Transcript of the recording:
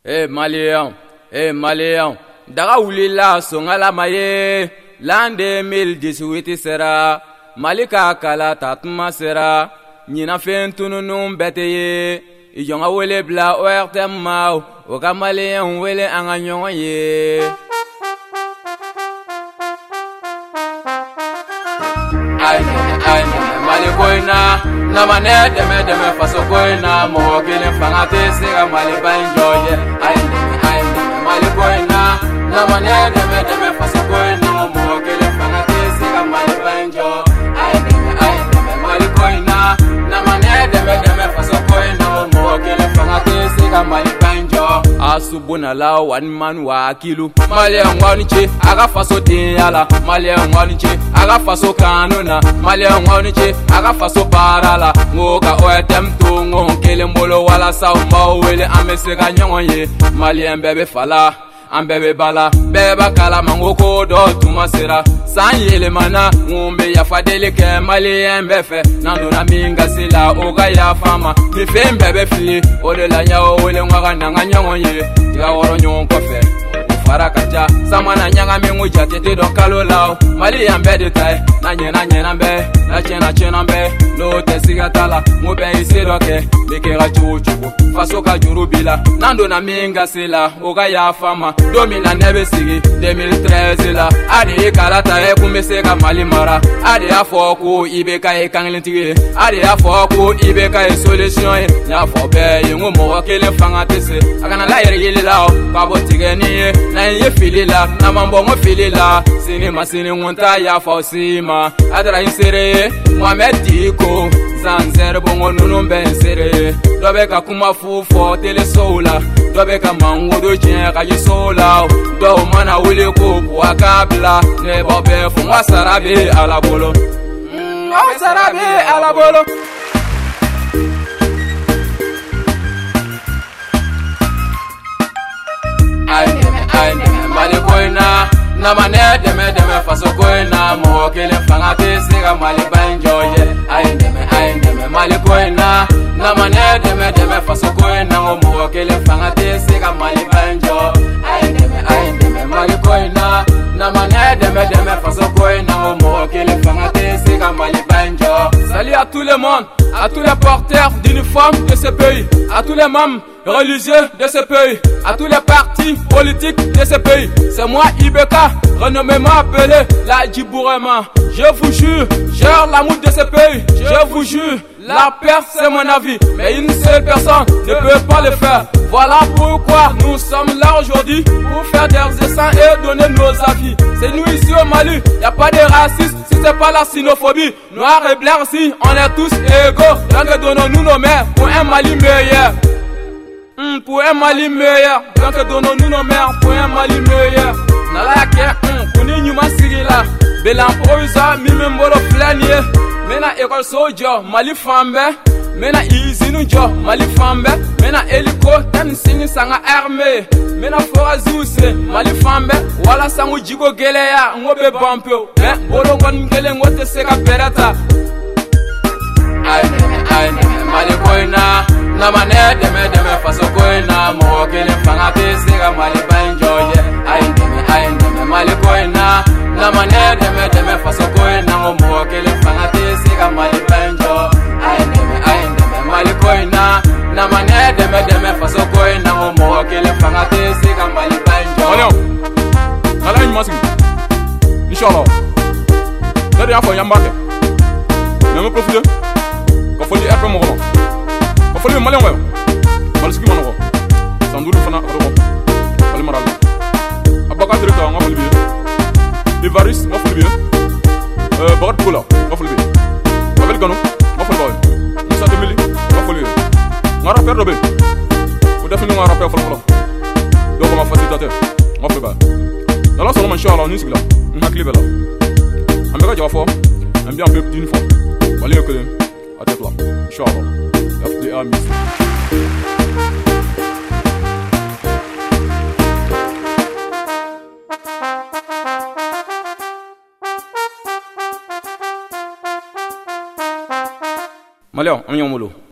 Malien, daga wulila songala maye, l'an 2018 sera, Malika kala tatuma sera, nyina fen tununun bete ye, ijonga wele bla oerte mau, oka Malien wele anga nyonga ye. Ay, Mali koina, na mane deme faso koina, mo kele fangate sega Mali banjoye. Ay, Mali koina, na mane deme faso koina, mo kele fangate sega Mali banjo. Ay, Mali koina, na mane deme faso koina, mo kele fangate sega Mali banjo. Asubuna la one man wa kilu, Malien waniche, aga faso tiala, Malien waniche, aga faso kanuna, Malien waniche, aga faso parala, ngoka oetem tu ngon kele mbolo wala sa umba wele amesega nyonye, Malien bebe fala. Ambebe bala, beba kala mangoko do tumasera. San yele mana, ngumbe ya fadele ke Malien befe. Nando na minga sila, oga ya fama. Mi fe mbebe fili, ode la nyao wele ngwaga nanga nyonye. Tiga woro nyon kofe, ufara kacha. Samana nyanga mingu jatete do kalo lao. Malien bede tai, na nyena mbe, na chena mbe. No te sigatala, ngube isi doke, mikera chuchuku. Faso ka jurubila, nando na minga sila, oga ya fama. Domina nebe sigi 2013 la ade kalata e kumeseka Mali mara ade afoko ibeka e kanglentigi ade afoko ibeka e solution e nya fo be yengo mo kele fanga tese akana la yele la ba botige ni na ye filila na mambo mo filila sini ngonta ya fo sima adra insere Mohamed Diko zanzer bongo nunu bensere dobe ka kuma fufo tele sola dobe ka mangodo jen ka yisola do mana wele ko wakabla ne bobe fu wasarabe alabolo wasarabe alabolo ay Mali koina na mane deme faso koina mo kele fanga te sega Mali banjoye ay Mali koina na mane deme faso koina mo kele fanga te sega Mali banjo ay Mali koina na mane deme faso koina mo kele fanga te sega Mali banjo. Salut à tout le monde, à tous les porteurs d'uniformes de ce pays, à tous les membres religieux de ce pays, à tous les partis politiques de ce pays. C'est moi Ibeka, renommément appelé la Djibourema. Je vous jure, j'ai l'amour de ce pays. Je vous jure, la paix c'est mon avis. Mais une seule personne ne peut pas le faire. Voilà pourquoi nous sommes là aujourd'hui pour faire des essais et donner nos avis. C'est nous ici au Mali, y a pas de racisme si c'est pas la xénophobie. Noirs et blancs si on est tous égaux. Donc donnons-nous nos mères pour un Mali meilleur. Pour un Mali meilleur, donc donnons-nous nos mères pour un Mali meilleur. Nala ke kuni nyuma sigila, belamproisa mimembolo flanie. Mena école sojo Mali fambe, mena izinu jo Mali fambe, mena eliko tan sini sanga armée, mena forazuse Mali fambe, wala sangu jigo geleya ngobe bampeo, me bolo ngon gele ngote seka perata. Ay Mali koina na mane deme faso koina mo kele fanga te sega Mali banjoye. Ay Mali koina na mane deme faso koina mo kele fanga te sega Mali banjo. Ay Mali koina na mane deme faso koina mo kele fanga te sega Mali banjo. Malio ala ni masigi inshallah dadi afo yambake me profiter ko foli erbe mo ko foli Malien wayo malsiki mono sandulu fana ro wali maral abaka directeur nga foli bi Ivaris nga foli bi Bagat Kula nga foli bi Abel Gano nga foli boy Moussa Demili nga foli nga rappeur do be ko defini nga rappeur folo do ko ma facilitateur nga foli ba dala solo inshallah ni sigla ngakli bela ambeka jawafo ambian be d'une fois wali ko à tête là inshallah FDA music. Malio, on y est au molo.